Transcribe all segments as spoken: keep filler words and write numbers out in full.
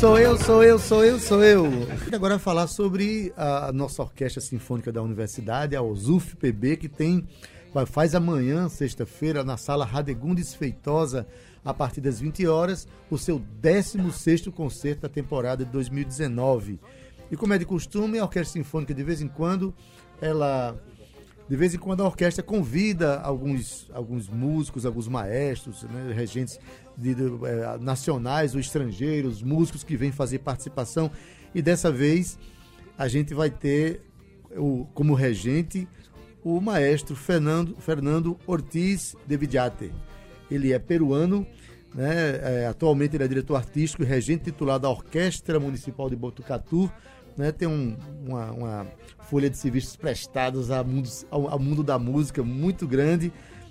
sou eu, sou eu, sou eu, sou eu. E agora falar sobre a nossa Orquestra Sinfônica da Universidade, a OSUF-P B, que tem, faz amanhã, sexta-feira, na Sala Radegundes Feitosa, a partir das vinte horas, o seu décimo sexto concerto da temporada de dois mil e dezenove. E como é de costume, a Orquestra Sinfônica, de vez em quando, ela... De vez em quando a orquestra convida alguns, alguns músicos, alguns maestros, né, regentes de, de, eh, nacionais ou estrangeiros, músicos que vêm fazer participação. E dessa vez a gente vai ter o, como regente o maestro Fernando, Fernando Ortiz de Villate. Ele é peruano, né, é, atualmente ele é diretor artístico e regente titular da Orquestra Municipal de Botucatu. Né, tem um, uma, uma folha de serviços prestados ao mundo, ao, ao mundo da música muito grande,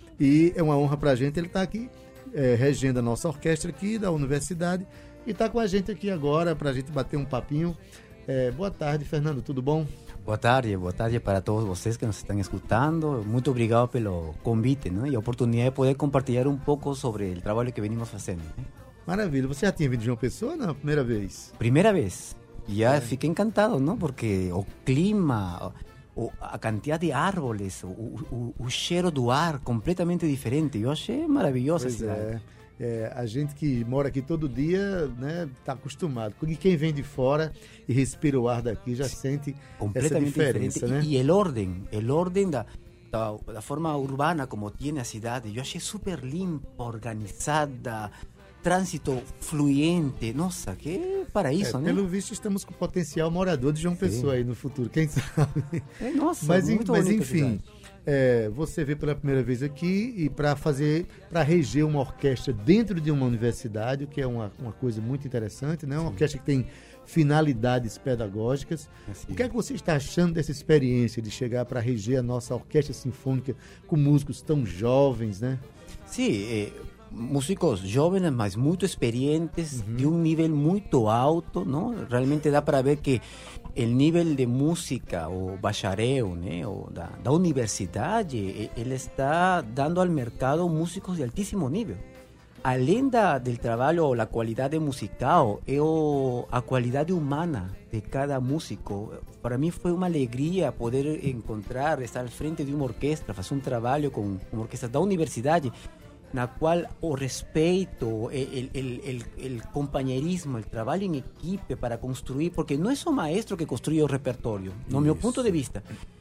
e é uma honra para a gente ele estar tá aqui é, regendo a nossa orquestra aqui da universidade e está com a gente aqui agora para a gente bater um papinho. É, boa tarde, Fernando, tudo bom? Boa tarde, boa tarde para todos vocês que nos estão escutando. Muito obrigado pelo convite, né, e a oportunidade de poder compartilhar um pouco sobre o trabalho que venimos fazendo. Né? Maravilha, você já tinha vindo de João Pessoa ou não? Primeira vez? Primeira vez. Ya fiquei encantado, ¿no? Porque o clima, o, a quantidade de árvores, o, o, o cheiro do ar completamente diferente. Eu achei maravilhosa a cidade. É, é, a gente que mora aqui todo dia, né, tá acostumado. E quem vem de fora e respira o ar daqui já sente essa diferença, né? E, e o ordem, o ordem da, da, da forma urbana como tem a cidade, eu achei super limpa, organizada, trânsito fluente, nossa, que paraíso, é, né? Pelo visto estamos com potencial morador de João Sim. Pessoa aí no futuro, quem sabe? É, nossa, mas, muito mas enfim, é, você veio pela primeira vez aqui e para fazer, para reger uma orquestra dentro de uma universidade, o que é uma, uma coisa muito interessante, né? Uma Sim. orquestra que tem finalidades pedagógicas. Assim. O que é que você está achando dessa experiência de chegar para reger a nossa orquestra sinfônica com músicos tão jovens, né? Sim, é... músicos jovens, mas muito experientes, uhum. de um nível muito alto, não? Realmente dá para ver que o nível de música, o bacharel, né, o da, da universidade, ele está dando ao mercado músicos de altíssimo nível. Além da, do trabalho, a qualidade musical, é o, a qualidade humana de cada músico. Para mim foi uma alegria poder encontrar, estar à frente de uma orquestra, fazer um trabalho com uma orquestra da universidade, na qual o respeito, o, o, o companheirismo, o trabalho em equipe para construir, porque não é só o maestro que construi o repertório, no Isso. meu ponto de vista.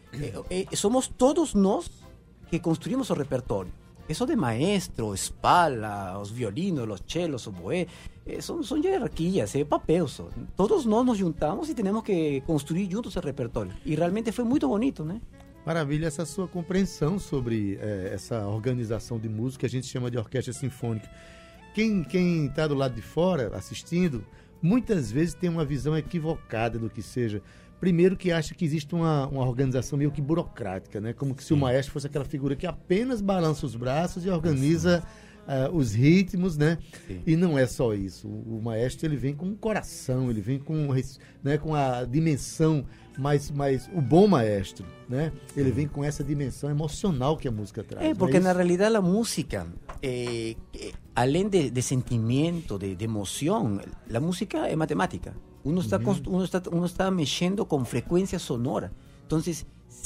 É, é, somos todos nós que construímos o repertório. Isso de maestro, espala, os violinos, os cellos, o boé, é, são, são hierarquias, é papel só. Todos nós nos juntamos e temos que construir juntos o repertório. E realmente foi muito bonito, né? Maravilha, essa sua compreensão sobre é, essa organização de música que a gente chama de orquestra sinfônica. Quem quem está do lado de fora assistindo, muitas vezes tem uma visão equivocada do que seja. Primeiro que acha que existe uma, uma organização meio que burocrática, né? Como que se o maestro fosse aquela figura que apenas balança os braços e organiza uh, os ritmos, né? Sim. E não é só isso. O, o maestro ele vem com o coração, ele vem com, né, com a dimensão. Mas, mas o bom maestro, né? Ele vem com essa dimensão emocional que a música traz. É, porque é na realidade a música, é, é, além de, de sentimento, de, de emoção, a música é matemática. Uno está, uhum. uno está, uno está mexendo com frequência sonora. Então, se,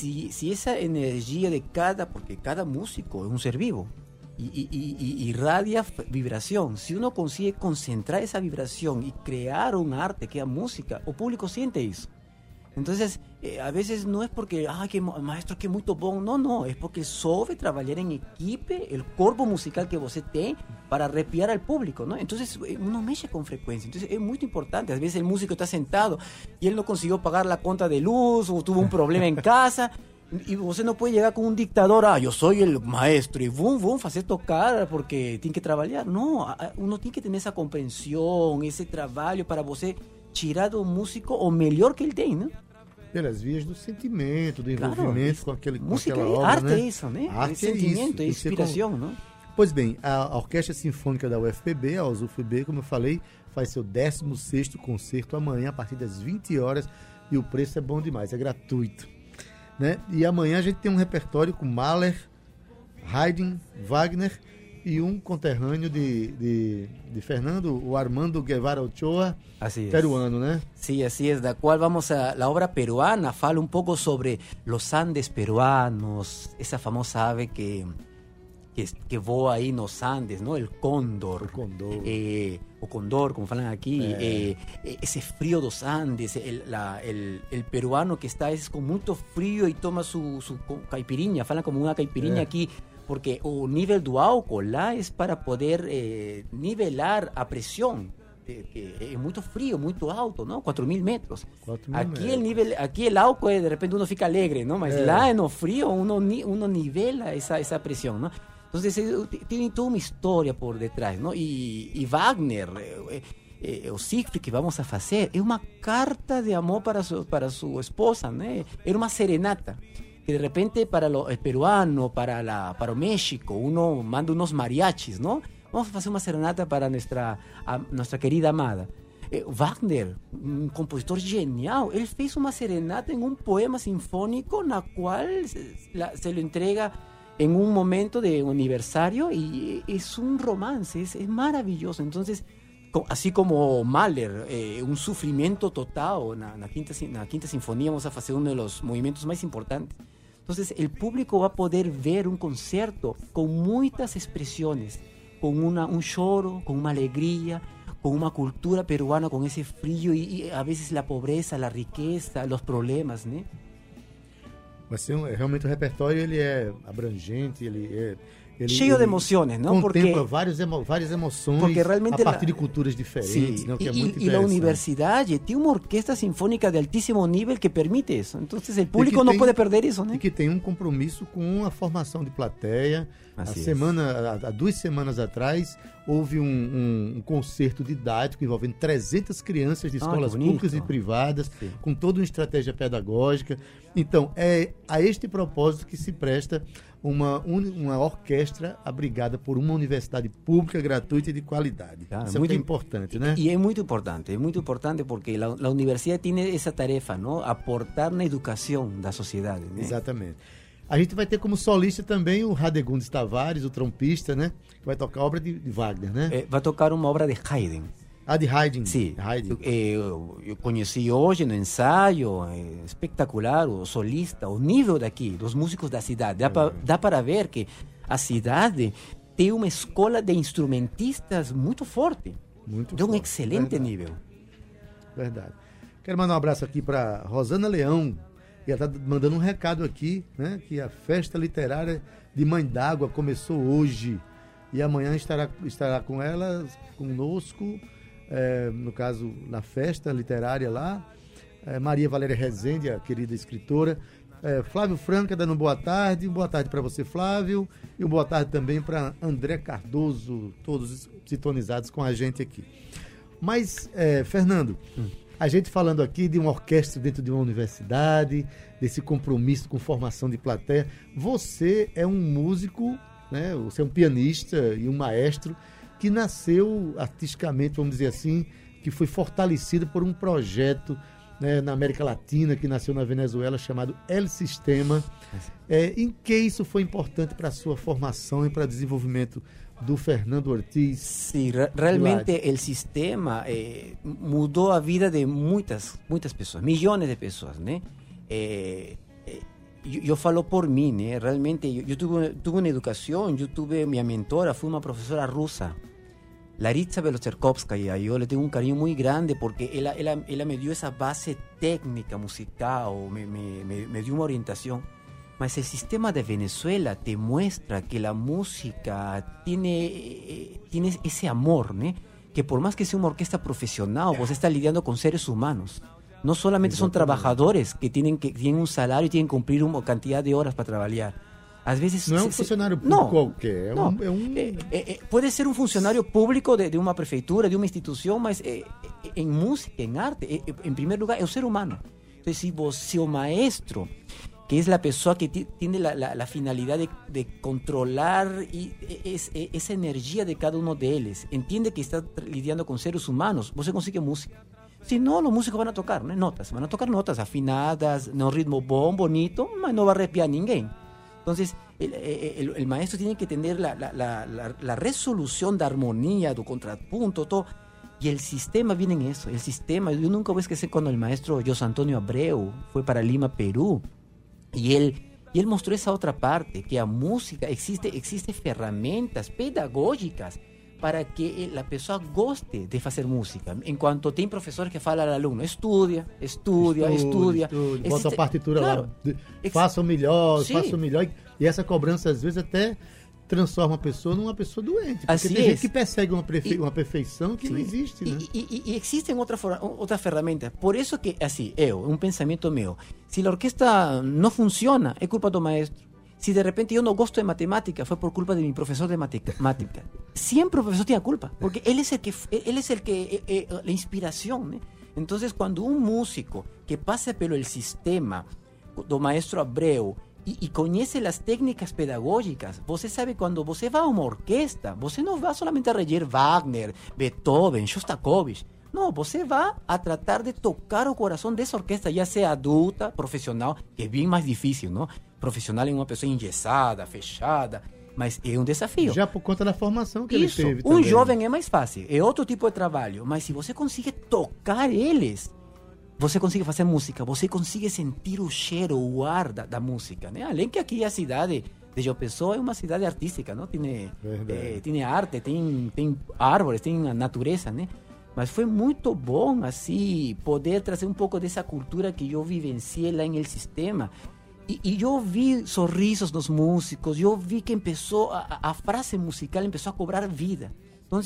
se essa energia de cada... Porque cada músico é um ser vivo. E, e, e irradia vibração. Se uno consegue concentrar essa vibração e criar um arte que é a música, o público sente isso. Entonces, eh, a veces no es porque, ah, que maestro que muito bom, no, no, es porque soube trabalhar em equipe, el corpo musical que você tem para arrepiar al público, ¿no? Entonces, uno mexe com frecuencia, entonces es muito importante. Às vezes el músico está sentado y él no consiguió pagar la conta de luz o tuvo un problema en casa y você não pode chegar com um dictador, ah, eu sou o maestro e vum, vum, fazer tocar porque tem que trabalhar. Não, uno tem que ter essa compreensão, esse trabalho para você tirar do músico o melhor que ele tem, né? Pelas vias do sentimento, do envolvimento claro, com, aquele, com música aquela é, obra, arte né? é isso, né? Arte é sentimento, é, é isso. é inspiração, como... não? Pois bem, a Orquestra Sinfônica da U F P B, a OSUF-P B, como eu falei, faz seu décimo sexto concerto amanhã a partir das vinte horas e o preço é bom demais, é gratuito, né? E amanhã a gente tem um repertório com Mahler, Haydn, Wagner y un conterráneo de, de, de Fernando, o Armando Guevara Ochoa, así es. peruano, ¿no? Sí, así es, la cual vamos a la obra peruana, fala un poco sobre los Andes peruanos, esa famosa ave que, que, que voa ahí en los Andes, ¿no? El cóndor. El cóndor. Eh, o condor, como falan aquí, eh. Eh, ese frío dos Andes, el, la, el, el peruano que está es con mucho frío y toma su, su caipirinha, falan como una caipirinha eh. aquí, porque o nível do álcool lá es para poder eh, nivelar a presión, que, que es muy frío, muy alto, ¿no? cuatro mil metros. cuatro mil aquí metros. el nivel, aquí el álcool de repente uno fica alegre, ¿no? Mas eh. lá no frío uno, uno nivela esa, esa presión, ¿no? Entonces tiene toda una historia por detrás, ¿no? Y, y Wagner, eh, eh, o Siegfried que vamos a hacer, es una carta de amor para su, para su esposa, ¿no? Era una serenata. Que de repente para lo, el peruano, para, la, para México, uno manda unos mariachis, ¿no? Vamos a hacer una serenata para nuestra, a, nuestra querida amada. Eh, Wagner, un compositor genial, él hizo una serenata en un poema sinfónico, en la cual se, la, se lo entrega en un momento de aniversario y es un romance, es, es maravilloso. Entonces, así como Mahler, eh, un sufrimiento total en la, en, la quinta, en la quinta sinfonía, vamos a hacer uno de los movimientos más importantes. Entonces, el público va a poder ver un concierto con muchas expresiones, con una, un choro, con una alegría, con una cultura peruana, con ese frío y, y a veces la pobreza, la riqueza, los problemas, ¿no? Vai ser um, realmente o repertório ele é abrangente, ele é ele, cheio ele de emociones, ¿no? Contempla porque, várias, emo, várias emoções porque realmente a partir la, de culturas diferentes, sí, ¿no? Que y, é muito y la universidad tiene una orquesta sinfónica de altísimo nivel que permite eso. Entonces el público no tem, puede perder eso, ¿no? E que tem um compromisso com a formação de plateia. Assim a semana, há duas semanas atrás, houve um, um, um concerto didático envolvendo trezentas crianças de escolas ah, públicas e privadas, Sim. com toda uma estratégia pedagógica. Então, é a este propósito que se presta uma, uma orquestra abrigada por uma universidade pública, gratuita e de qualidade. Claro, Isso é muito importante, né? Y es muy importante, es muy importante porque la, la universidad tiene esa tarefa, ¿no? Aportar na educación da sociedade, né? Exatamente. A gente vai ter como solista também o Radegundes Tavares, o trompista, né? Que vai tocar obra de, de Wagner, né? Eh, vai tocar uma obra de Haydn. Ah, de Haydn. Sí, Haydn. Eh, eu, eu conheci hoje no ensaio, é espetacular, o solista, o nível daqui, dos músicos da cidade. Dá, é. pra, dá para ver que a cidade tem uma escola de instrumentistas muito forte. Muito de um forte. excelente Verdade. nível. Verdade. Quero mandar um abraço aqui para Rosana Leão, e ela está mandando um recado aqui, né? Que a festa literária de Mãe d'Água começou hoje e amanhã estará, estará com ela, conosco, é, no caso, na festa literária lá, é, Maria Valéria Rezende, a querida escritora, é, Flávio Franca dando boa tarde, boa tarde para você, Flávio, e boa tarde também para André Cardoso, todos sintonizados com a gente aqui. Mas, é, Fernando, hum. a gente falando aqui de uma orquestra dentro de uma universidade, desse compromisso com formação de plateia. Você é um músico, né? Você é um pianista e um maestro que nasceu artisticamente, vamos dizer assim, que foi fortalecido por um projeto, né, na América Latina, que nasceu na Venezuela, chamado El Sistema. É, em que isso foi importante para a sua formação e para o desenvolvimento do Fernando Ortiz? Sí, re realmente el sistema eh, mudó a vida de muchas, muchas personas, millones de personas, ¿no? Eh, eh, yo, yo falo por mí, ¿no? Realmente yo, yo tuve, tuve una educación, yo tuve mi mentora, fue una profesora rusa, Laritsa Belocerkovskaya, y yo le tengo un cariño muy grande porque ella, ella, ella me dio esa base técnica musical, me, me, me, me dio una orientación. Mas el sistema de Venezuela te muestra que la música tiene, eh, tiene ese amor, ¿no? Que por más que sea una orquesta profesional, vos estás lidiando con seres humanos. No solamente son trabajadores que tienen, que tienen un salario y tienen que cumplir una cantidad de horas para trabajar. A veces no es un se, funcionario público no, cualquier. No. Es un... Eh, eh, puede ser un funcionario público de, de una prefeitura, de una institución, mas eh, en música, en arte, eh, en primer lugar, es un ser humano. Entonces, si vos, si o maestro, que es la persona que t- tiene la, la, la finalidad de, de controlar y es, es, esa energía de cada uno de ellos, entiende que está lidiando con seres humanos, vos se consigue música. Si no, los músicos van a tocar, ¿no? Notas, van a tocar notas afinadas, no ritmo bom, bonito, mas no va a arrepiar a ninguém. Entonces, el, el, el maestro tiene que tener la, la, la, la, la resolución de armonía, de contrapunto, todo. Y el sistema viene en eso, el sistema. Yo nunca voy a esquecer cuando el maestro José Antonio Abreu fue para Lima, Perú, y él, y él mostró esa otra parte, que a música existe, existe herramientas pedagógicas para que la persona goste de hacer música. En cuanto tem professores que falam ao aluno, estudia, estudia, estudia. estudia. Bota a partitura claro, lá, faça o melhor, sim. faça o melhor. E essa cobrança, às vezes, até transforma a pessoa numa pessoa doente. Porque assim tem é. gente que persegue uma, perfe... uma perfeição que sim. não existe. Né? E, e, e existem outras outra ferramentas. Por isso que, assim, eu, um pensamento meu, se a orquestra não funciona, é culpa do maestro. Si de repente yo no gosto de matemática, fue por culpa de mi profesor de matemática. Siempre el profesor tiene culpa, porque él es el que, él es el que eh, eh, la inspiración. ¿eh? Entonces, cuando un músico que pasa pelo el sistema do maestro Abreu y, y conoce las técnicas pedagógicas, você sabe, cuando você va a una orquesta, você no va solamente a reger Wagner, Beethoven, Shostakovich. No, você va a tratar de tocar o corazón de esa orquesta, ya sea adulta, profesional, que es bien más difícil, ¿no? Profissional é uma pessoa engessada, fechada, mas é um desafio. Já por conta da formação que Isso, ele teve um também. jovem é mais fácil, é outro tipo de trabalho, mas se você consegue tocar eles, você consegue fazer música, você consegue sentir o cheiro, o ar da, da música, né? Além que aqui a cidade de João Pessoa é uma cidade artística, não? Tem, é, tem arte, tem, tem árvores, tem a natureza, né? Mas foi muito bom, assim, poder trazer um pouco dessa cultura que eu vivenciei lá no sistema. E, e eu vi sorrisos dos músicos, eu vi que começou, a, a frase musical começou a cobrar vida. Então,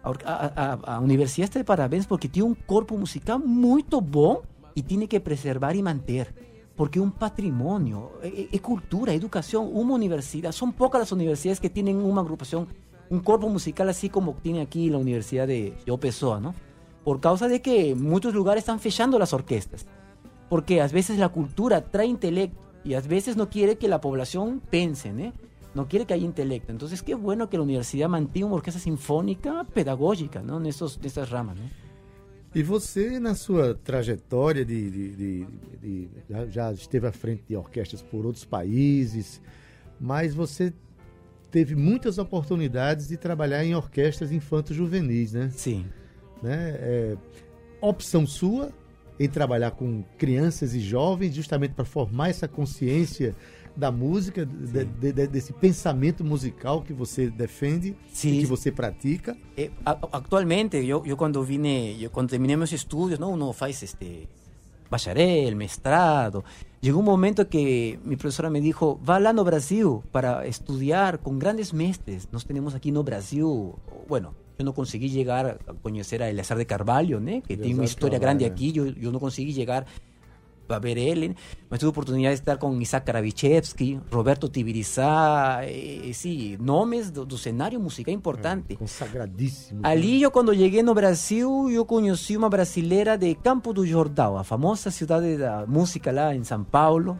a, a, a universidade está de parabéns porque tem um corpo musical muito bom e tem que preservar e manter. Porque é um patrimônio, é, é cultura, é educação. Uma universidade, são poucas as universidades que têm uma agrupação, um corpo musical assim como tem aqui na Universidade de João Pessoa, não? Por causa de que muitos lugares estão fechando as orquestas. Porque às vezes a cultura traz intelecto y a veces no quiere que la población pense, ¿eh? No quiere que haya intelecto. Entonces, qué bueno que la universidad mantenha uma orquestra sinfônica pedagógica, ¿no? Nessas, nessas ramas, né? E você, na sua trajetória, de, de, de, de, de, já esteve à frente de orquestras por outros países, mas você teve muitas oportunidades de trabalhar em orquestras infanto-juvenis, né? Sim. Né? É, opção sua em trabalhar com crianças e jovens, justamente para formar essa consciência da música, de, de, de, desse pensamento musical que você defende, Sim. e que você pratica. Eh, actualmente, eu, eu quando vine, eu quando terminei meus estudos, não, uno faz este bacharel, mestrado. Llegó un momento que mi profesora me dijo, va lá no Brasil para estudiar con grandes mestres. Nós tenemos aquí no Brasil, bueno, yo no conseguí llegar a conocer a Eleazar de Carvalho, ¿no? Que tiene una historia grande aquí, yo, yo no conseguí llegar a ver él, mas tuve oportunidad de estar con Isaac Karavichevsky, Roberto Tibirizá, eh, sí, nomes do, do cenário musical importante. É, consagradíssimo. Ali eu, quando cheguei no Brasil, eu conheci uma brasileira de Campo do Jordão, a famosa cidade da música lá em São Paulo.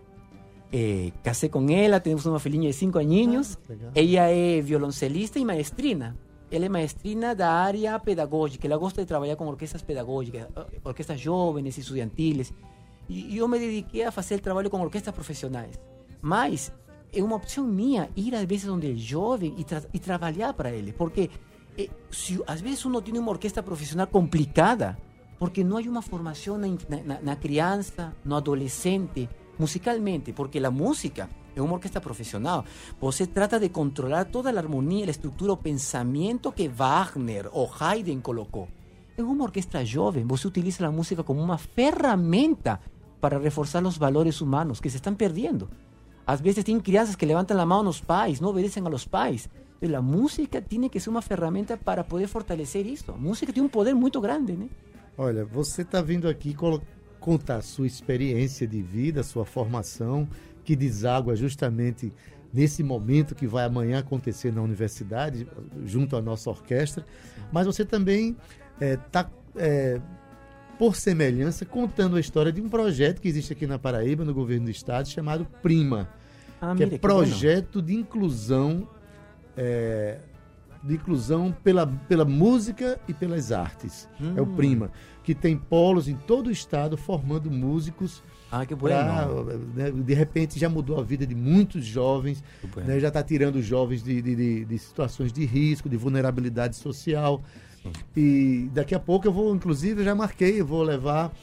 Eh, casei com ela, temos uma filhinha de cinco aninhos. Ah, ela é violoncelista e maestrina. Ela é maestrina da área pedagógica, ela gosta de trabalhar com orquestras pedagógicas, orquestras jovens e estudiantiles. E eu me dediquei a fazer trabalho com orquestras profissionais. Mas é uma opção minha ir às vezes onde é jovem e, tra- e trabalhar para ele. Porque eh, se, às vezes uno tem uma orquestra profissional complicada, porque não há uma formação na, na, na criança, no adolescente, musicalmente. Porque a música é uma orquestra profissional. Você trata de controlar toda a harmonia, a estrutura, o pensamento que Wagner ou Haydn colocou. En uma orquestra jovem, você utiliza a música como uma ferramenta para reforçar os valores humanos que se estão perdendo. Às vezes tem crianças que levantam a mão nos pais, não obedecem a los pais. Então, a música tem que ser uma ferramenta para poder fortalecer isso. A música tem um poder muito grande, né? Olha, você está vindo aqui colo- contar a sua experiência de vida, a sua formação, que deságua justamente nesse momento que vai amanhã acontecer na universidade, junto à nossa orquestra. Mas você também está, é, é, por semelhança, contando a história de um projeto que existe aqui na Paraíba, no governo do estado, chamado Prima, ah, que mira, é projeto que de inclusão, é, de inclusão pela, pela música e pelas artes. Hum. É o Prima, que tem polos em todo o estado formando músicos Ah, que bueno. Pra, né, de repente já mudou a vida de muitos jovens, bueno. né, já está tirando os jovens de, de, de, de situações de risco, de vulnerabilidade social. Sim. E daqui a pouco eu vou, inclusive, eu já marquei, eu vou levar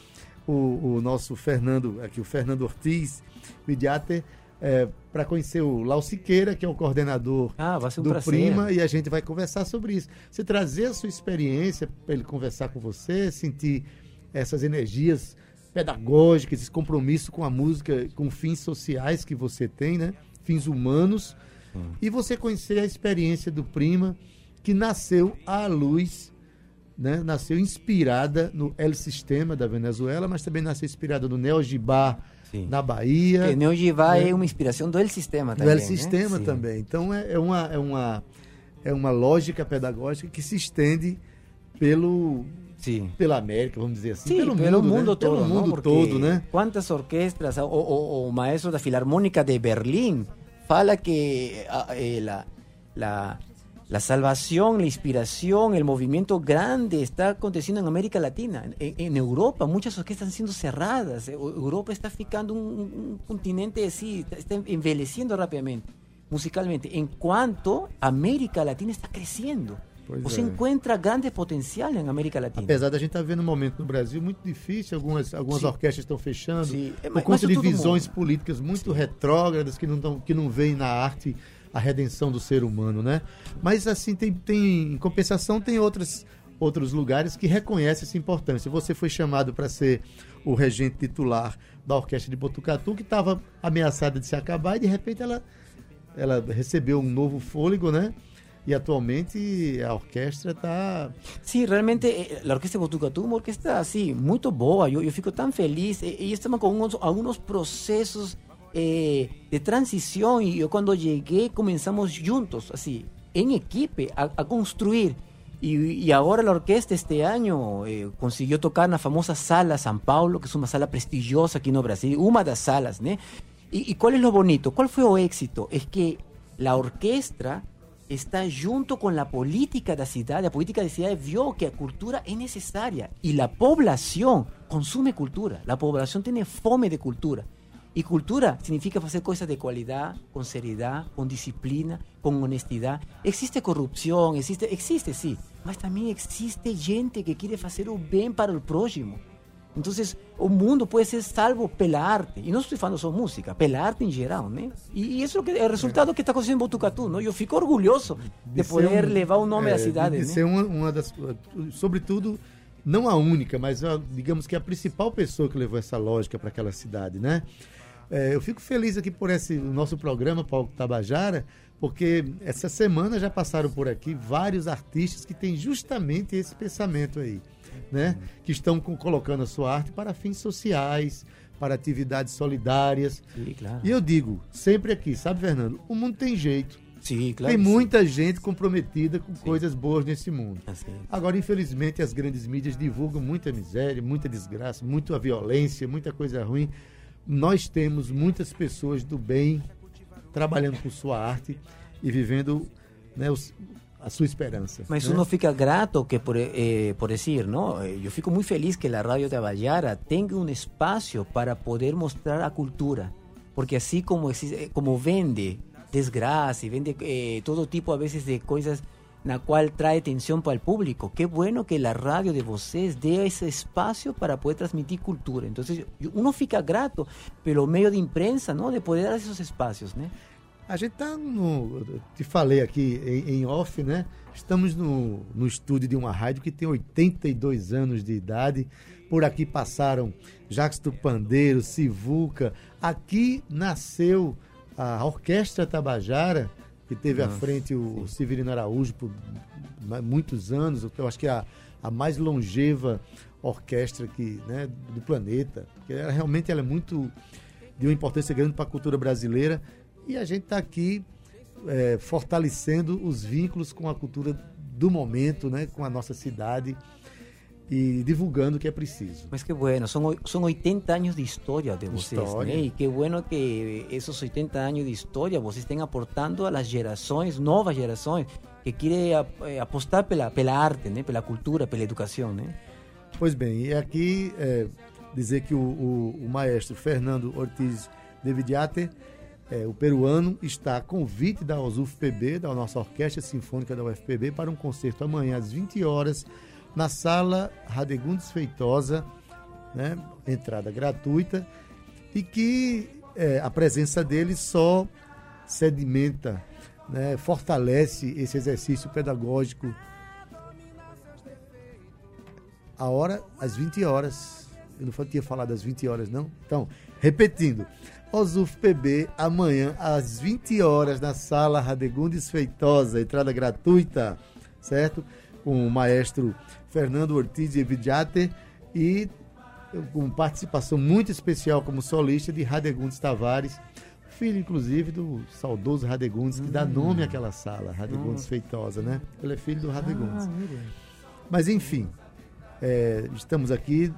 o, o nosso Fernando, aqui o Fernando Ortiz, Mediater, é, para conhecer o Lau Siqueira, que é o coordenador ah, vai ser um do prazer. Prima, e a gente vai conversar sobre isso. Você trazer a sua experiência para ele conversar com você, sentir essas energias pedagógicas, esse compromisso com a música, com fins sociais que você tem, né? Fins humanos, hum. e você conhecer a experiência do Prima, que nasceu à luz, né? Nasceu inspirada no El Sistema da Venezuela, mas também nasceu inspirada no Neo Gibá, sim. na Bahia. Que Neo Gibá né? é uma inspiração do El Sistema também. Do El Sistema né? também. Então é, é, uma, é, uma, é uma lógica pedagógica que se estende pelo... Sim. Pela América, vamos dizer assim, sí, pelo, pelo mundo, mundo né? todo, pelo mundo ¿no? todo, né? Quantas orquestras, o, o, o maestro da Filarmónica de Berlim fala que eh, la, la, la salvación, la inspiración, el movimiento grande está aconteciendo en América Latina. En, en Europa muchas orquestas están siendo cerradas. Europa está ficando un, un continente así, está envelheciendo rápidamente, musicalmente. En cuanto América Latina está creciendo. Pois Você é. encontra grande potencial em América Latina. Apesar da gente estar tá vendo um momento no Brasil muito difícil, algumas, algumas orquestras estão fechando, Sim. por mas, conta mas de visões mundo. políticas muito Sim. retrógradas que não, tão, que não veem na arte a redenção do ser humano, né? Mas assim, tem, tem, em compensação, tem outras, outros lugares que reconhecem essa importância. Você foi chamado para ser o regente titular da Orquestra de Botucatu, que estava ameaçada de se acabar, e de repente ela, ela recebeu um novo fôlego, né? E atualmente a orquestra está... Sim, realmente a Orquestra de Botucatu é uma orquestra assim, muito boa. Eu, eu fico tão feliz. E, e estamos com uns, alguns processos eh, de transição. E eu, quando cheguei, começamos juntos, assim, em equipe, a, a construir. E, e agora a orquestra este ano eh, conseguiu tocar na famosa Sala São Paulo, que é uma sala prestigiosa aqui no Brasil, uma das salas, né? E, e qual é o bonito? Qual foi o éxito? É que a orquestra está junto con la política de la ciudad. La política de la ciudad vio que la cultura es necesaria y la población consume cultura. La población tiene fome de cultura. Y cultura significa hacer cosas de calidad, con seriedad, con disciplina, con honestidad. Existe corrupción, existe, existe sí, mas también existe gente que quiere hacer un bien para el prójimo. Entonces, o mundo pode ser salvo pela arte. E não estou falando só música, pela arte em geral, né? E, e isso é o resultado que está acontecendo em Botucatu, não? Eu fico orgulhoso de, de poder um, levar o nome é, da cidade, de, de né? ser uma, uma das... Sobretudo, não a única, mas digamos que a principal pessoa que levou essa lógica para aquela cidade, né? É, eu fico feliz aqui por esse nosso programa, Palco Tabajara, porque essa semana já passaram por aqui vários artistas que têm justamente esse pensamento aí. Né? Que estão com, colocando a sua arte para fins sociais, para atividades solidárias. Sim, claro. E eu digo, sempre aqui, sabe, Fernando? O mundo tem jeito. Sim, claro. Tem muita sim. gente comprometida com sim. coisas boas nesse mundo. Assim. Agora, infelizmente, as grandes mídias divulgam muita miséria, muita desgraça, muita violência, muita coisa ruim. Nós temos muitas pessoas do bem trabalhando com sua arte e vivendo, né, os, a sua esperança. Mas né? uno fica grato que por, eh, por dizer, ¿no? Eu fico muito feliz que a Rádio Tabajara tenha um espaço para poder mostrar a cultura, porque assim como, como vende desgraça e vende eh, todo tipo, a vezes, de coisas na qual traz atenção para o público, que bueno que a rádio de vocês dê esse espaço para poder transmitir cultura. Então, uno fica grato pelo meio de imprensa, ¿no? De poder dar esses espaços, né? A gente está no... Te falei aqui em, em off, né? Estamos no, no estúdio de uma rádio que tem oitenta e dois anos de idade. Por aqui passaram Jacques do Pandeiro, Sivuca. Aqui nasceu a Orquestra Tabajara, que teve Nossa, à frente o sim. Severino Araújo por muitos anos. Eu acho que é a, a mais longeva orquestra que, né, do planeta. Que ela, realmente ela é muito de uma importância grande para a cultura brasileira. E a gente está aqui é, fortalecendo os vínculos com a cultura do momento, né, com a nossa cidade e divulgando o que é preciso. Mas que bueno, são, são oitenta anos de história de vocês, história. Né? E que bueno que esses oitenta anos de história vocês estão aportando às gerações, novas gerações, que querem apostar pela, pela arte, né, pela cultura, pela educação, né? Pois bem, e aqui... É, dizer que o, o, o maestro Fernando Ortiz de Vidiate, é, o peruano, está a convite da U F P B, da nossa Orquestra Sinfônica da U F P B, para um concerto amanhã às vinte horas, na Sala Radegundes Feitosa, né, entrada gratuita, e que é, a presença dele só sedimenta, né, fortalece esse exercício pedagógico. A hora, às vinte horas. Eu não tinha falado às vinte horas, não? Então, repetindo, O S U F P B, amanhã, às vinte horas, na Sala Radegundes Feitosa, entrada gratuita, certo? Com o maestro Fernando Ortiz de Vidiate e com participação muito especial como solista de Radegundes Tavares, filho, inclusive, do saudoso Radegundes, que hum. dá nome àquela sala, Radegundes hum. Feitosa, né? Ele é filho do Radegundes. Ah, Mas, enfim, é, estamos aqui,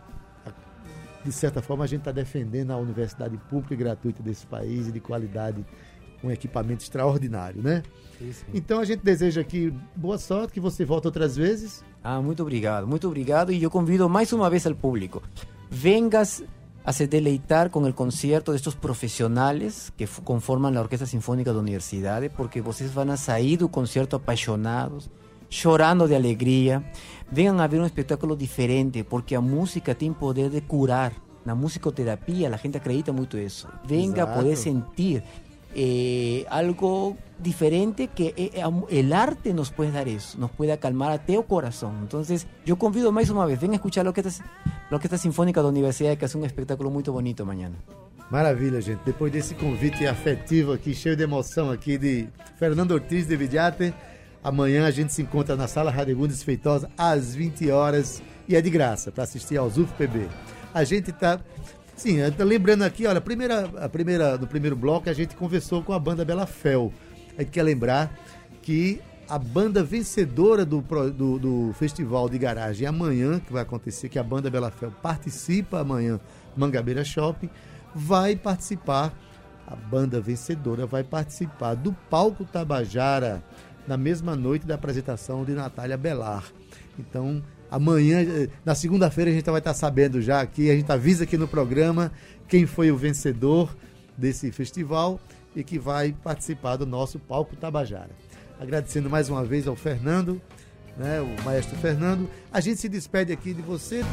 de certa forma, a gente está defendendo a universidade pública e gratuita desse país e de qualidade, com um equipamento extraordinário, né? Isso. Então, a gente deseja aqui boa sorte, que você volte outras vezes. Ah, muito obrigado, muito obrigado. E eu convido mais uma vez ao público. Vengas a se deleitar con el concierto de estos profesionales que f- conforman la Orquesta Sinfónica da Universidade, porque vocês van a sair do concerto apaixonados, chorando de alegria. Vengan a ver um espetáculo diferente, porque a música tem poder de curar. Na musicoterapia, a gente acredita muito isso. Venga Exato. A poder sentir eh, algo diferente, que eh, el arte nos puede dar eso, nos puede acalmar até o corazón. Entonces, yo convido más una vez, ven a escuchar la Orquesta, la Orquesta Sinfónica da Universidade, que hace um espetáculo muito bonito amanhã. Maravilha, gente. Depois desse convite afetivo aqui, cheio de emoção aqui de Fernando Ortiz de Vidiate, amanhã a gente se encontra na Sala Radegundes Feitosa às vinte horas e é de graça para assistir ao S U F P B. A gente está... Sim, tá lembrando aqui, olha, a primeira, a primeira, no primeiro bloco a gente conversou com a banda Bela Fel. A gente quer lembrar que a banda vencedora do, do, do Festival de Garagem amanhã, que vai acontecer, que a banda Bela Fel participa amanhã no Mangabeira Shopping, vai participar, a banda vencedora vai participar do Palco Tabajara, na mesma noite da apresentação de Natália Belar. Então, amanhã, na segunda-feira, a gente vai estar sabendo já aqui, a gente avisa aqui no programa quem foi o vencedor desse festival e que vai participar do nosso Palco Tabajara. Agradecendo mais uma vez ao Fernando, né, o maestro Fernando. A gente se despede aqui de você.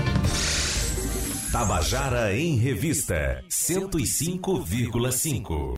Tabajara em Revista, cento e cinco vírgula cinco.